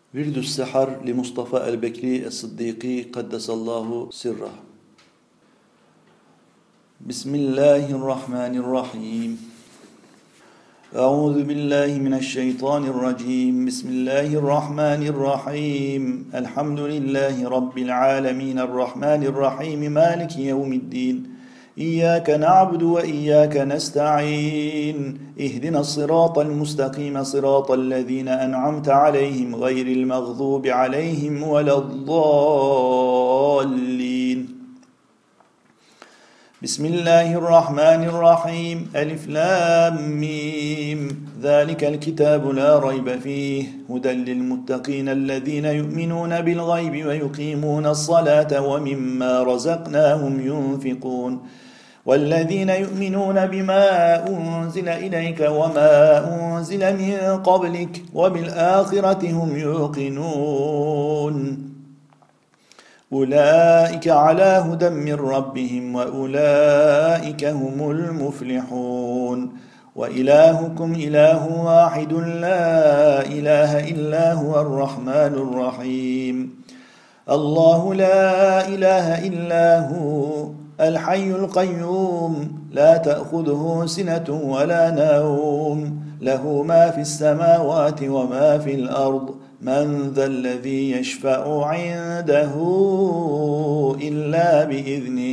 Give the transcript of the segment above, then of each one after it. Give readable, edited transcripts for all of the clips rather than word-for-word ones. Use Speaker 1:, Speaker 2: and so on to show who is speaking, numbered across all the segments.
Speaker 1: ورد السحر لمصطفى البكري الصديقي قدس الله سره. بسم الله الرحمن الرحيم. أعوذ بالله من الشيطان الرجيم. بسم الله الرحمن الرحيم. الحمد لله رب العالمين الرحمن الرحيم مالك يوم الدين. إياك نعبد وإياك نستعين. اهدنا الصراط المستقيم صراط الذين أنعمت عليهم غير المغضوب عليهم ولا الضالين. بسم الله الرحمن الرحيم. ألف لام ميم. ذلك الكتاب لا ريب فيه هدى للمتقين الذين يؤمنون بالغيب ويقيمون الصلاة ومما رزقناهم ينفقون والذين يؤمنون بما أنزل إليك وما أنزل من قبلك وبالآخرة هم يوقنون أولئك على هدى من ربهم وأولئك هم المفلحون. وإلهكم إله واحد لا إله إلا هو الرحمن الرحيم. الله لا إله إلا هو الحي القيوم لا تأخذه سنة ولا نوم له ما في السماوات وما في الأرض من ذا الذي يشفع عنده إلا بإذنه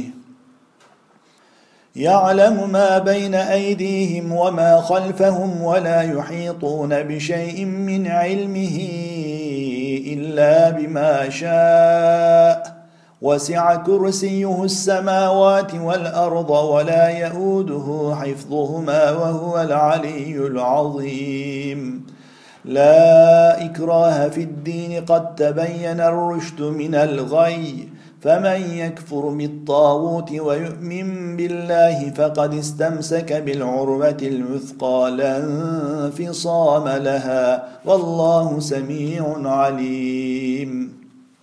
Speaker 1: يعلم ما بين أيديهم وما خلفهم ولا يحيطون بشيء من علمه إلا بما شاء وسع كرسيه السماوات والأرض ولا يؤوده حفظهما وهو العلي العظيم. لا إكراه في الدين قد تبين الرشد من الغي فمن يكفر بالطاغوت ويؤمن بالله فقد استمسك بالعروة الوثقى لا انفصام لها والله سميع عليم.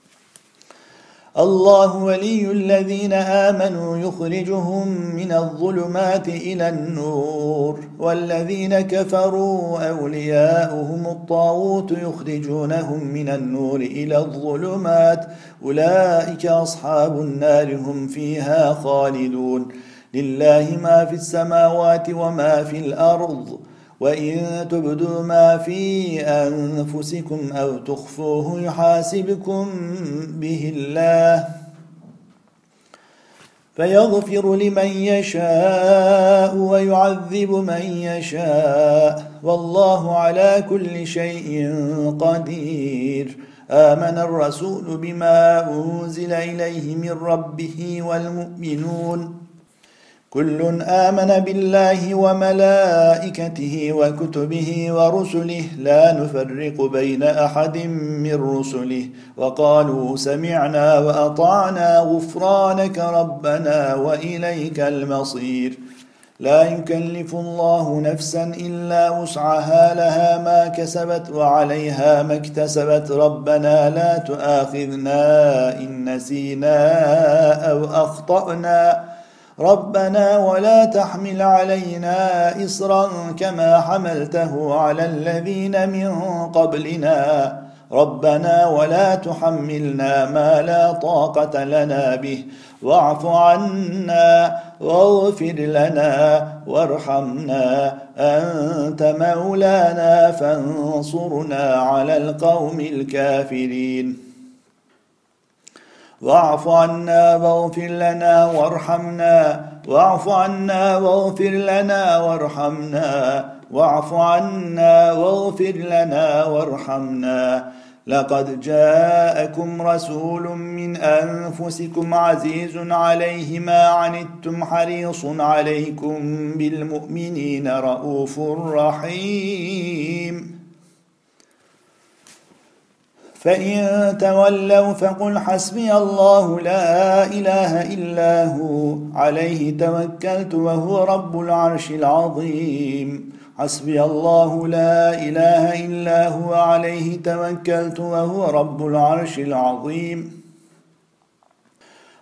Speaker 1: الله ولي الذين آمنوا يخرجهم من الظلمات إلى النور والذين كفروا أولياؤهم الطاغوت يخرجونهم من النور إلى الظلمات أولئك أصحاب النار هم فيها خالدون. لله ما في السماوات وما في الأرض وإن تبدوا ما في أنفسكم أو تخفوه يحاسبكم به الله فيغفر لمن يشاء ويعذب من يشاء والله على كل شيء قدير. آمن الرسول بما أنزل إليه من ربه والمؤمنون كل آمن بالله وملائكته وكتبه ورسله لا نفرق بين أحد من رسله وقالوا سمعنا وأطعنا غفرانك ربنا وإليك المصير. لا يكلف الله نفسا إلا وسعها لها ما كسبت وعليها ما اكتسبت ربنا لا تؤاخذنا إن نسينا أو أخطأنا ربنا ولا تحمل علينا إصرا كما حملته على الذين من قبلنا ربنا ولا تحملنا ما لا طاقة لنا به واعف عنا واغفر لنا وارحمنا أنت مولانا فانصرنا على القوم الكافرين. واعف عنا واغفر لنا وارحمنا واعف عنا واغفر لنا وارحمنا واعف عنا واغفر لنا وارحمنا. لقد جاءكم رسول من أنفسكم عزيز عليه ما عنتم حريص عليكم بالمؤمنين رؤوف رحيم. فإن تولوا فقل حسبي الله لا إله إلا هو عليه توكلت وهو رب العرش العظيم. حسبي الله لا إله إلا هو عليه توكلت وهو رب العرش العظيم.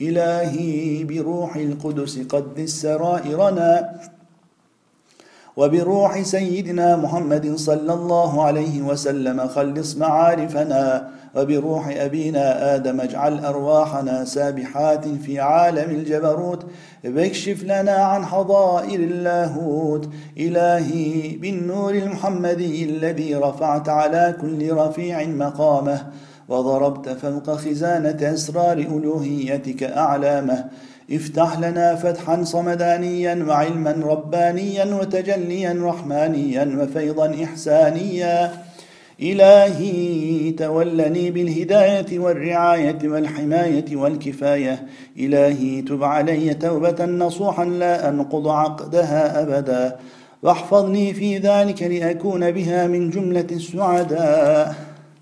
Speaker 1: إلهي بروح القدس قدس سرائرنا، وبروح سيدنا محمد صلى الله عليه وسلم خلص معارفنا، وبروح أبينا آدم اجعل أرواحنا سابحات في عالم الجبروت، واكشف لنا عن حظائر اللاهوت. إلهي بالنور المحمدي الذي رفعت على كل رفيع مقامه، وضربت فوق خزانة أسرار ألوهيتك أعلامه، افتح لنا فتحا صمدانيا وعلما ربانيا وتجليا رحمانيا وفيضا إحسانيا. إلهي تولني بالهداية والرعاية والحماية والكفاية. إلهي تب علي توبة نصوحا لا أنقض عقدها أبدا، واحفظني في ذلك لأكون بها من جملة السعداء.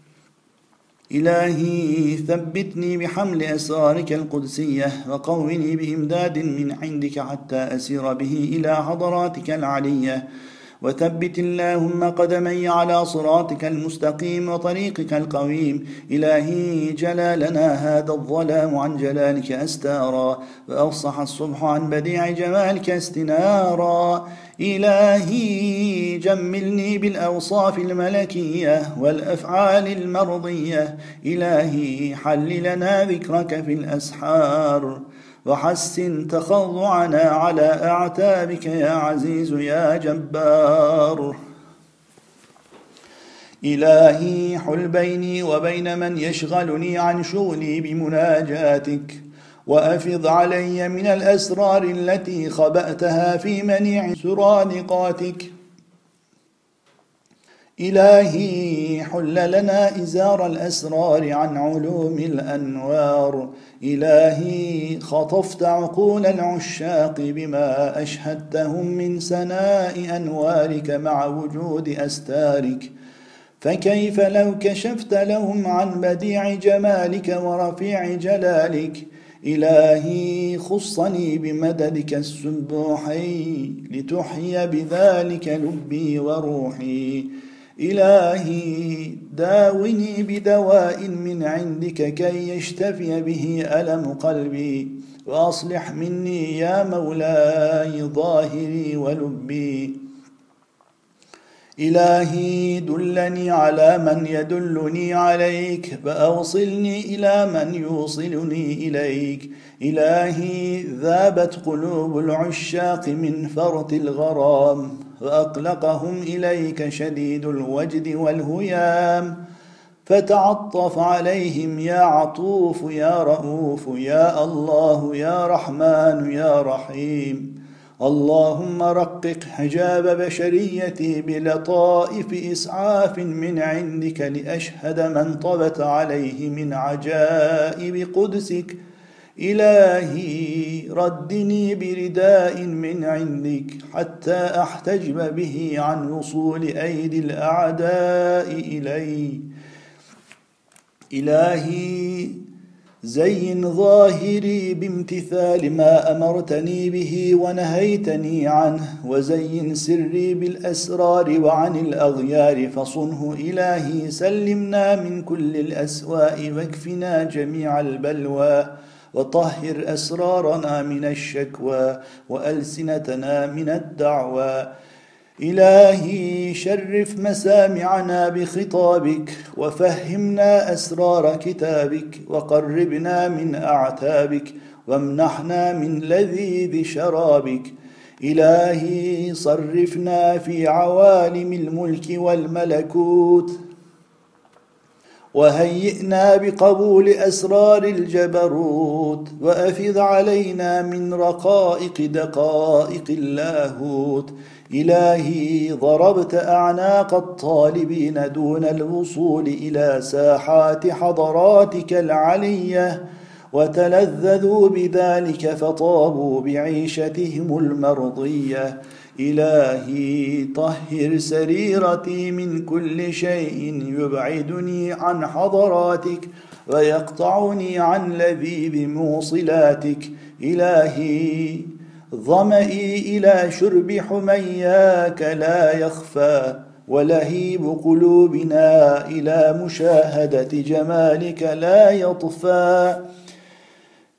Speaker 1: إلهي ثبتني بحمل أسرارك القدسية، وقوني بإمداد من عندك حتى أسير به إلى حضراتك العلية، وثبت اللهم قدمي على صراطك المستقيم وطريقك القويم. إلهي جلالنا هذا الظلام عن جلالك أستارا، وأفصح الصبح عن بديع جمالك استنارا. إلهي جملني بالأوصاف الملكية والأفعال المرضية. إلهي حل لنا ذكرك في الأسحار، وحسن تخضعنا على أعتابك يا عزيز يا جبار. إلهي حل بيني وبين من يشغلني عن شغلي بمناجاتك، وأفض علي من الأسرار التي خبأتها في منيع سرادقاتك. إلهي حل لنا إزار الأسرار عن علوم الأنوار. إلهي خطفت عقول العشاق بما أشهدتهم من سناء أنوارك مع وجود أستارك، فكيف لو كشفت لهم عن بديع جمالك ورفيع جلالك. إلهي خصني بمددك السبوحي لتحيي بذلك لبي وروحي. إلهي داوني بدواء من عندك كي يشتفي به ألم قلبي، وأصلح مني يا مولاي ظاهري ولبي. إلهي دلني على من يدلني عليك، فأوصلني إلى من يوصلني إليك. إلهي ذابت قلوب العشاق من فرط الغرام، وأقلقهم إليك شديد الوجد والهيام، فتعطف عليهم يا عطوف يا رؤوف يا الله يا رحمن يا رحيم. اللهم رقق حجاب بشريتي بلطائف إسعاف من عندك لأشهد من طبت عليه من عجائب قدسك. إلهي ردني برداء من عندك حتى أحتجب به عن وصول أيدي الأعداء إلي. إلهي زين ظاهري بامتثال ما أمرتني به ونهيتني عنه، وزين سري بالأسرار وعن الأغيار فصنه. إلهي سلمنا من كل الأسواء واكفنا جميع البلوى، وطهر أسرارنا من الشكوى وألسنتنا من الدعوى. إلهي شرف مسامعنا بخطابك، وفهمنا أسرار كتابك، وقربنا من أعتابك، وامنحنا من لذيذ شرابك. إلهي صرفنا في عوالم الملك والملكوت، وهيئنا بقبول أسرار الجبروت، وأفض علينا من رقائق دقائق اللاهوت. إلهي ضربت أعناق الطالبين دون الوصول إلى ساحات حضراتك العلية، وتلذذوا بذلك فطابوا بعيشتهم المرضية. إلهي طهر سريرتي من كل شيء يبعدني عن حضراتك ويقطعني عن لذيذ موصلاتك. إلهي ظمئي إلى شرب حمياك لا يخفى، ولهيب قلوبنا إلى مشاهدة جمالك لا يطفى.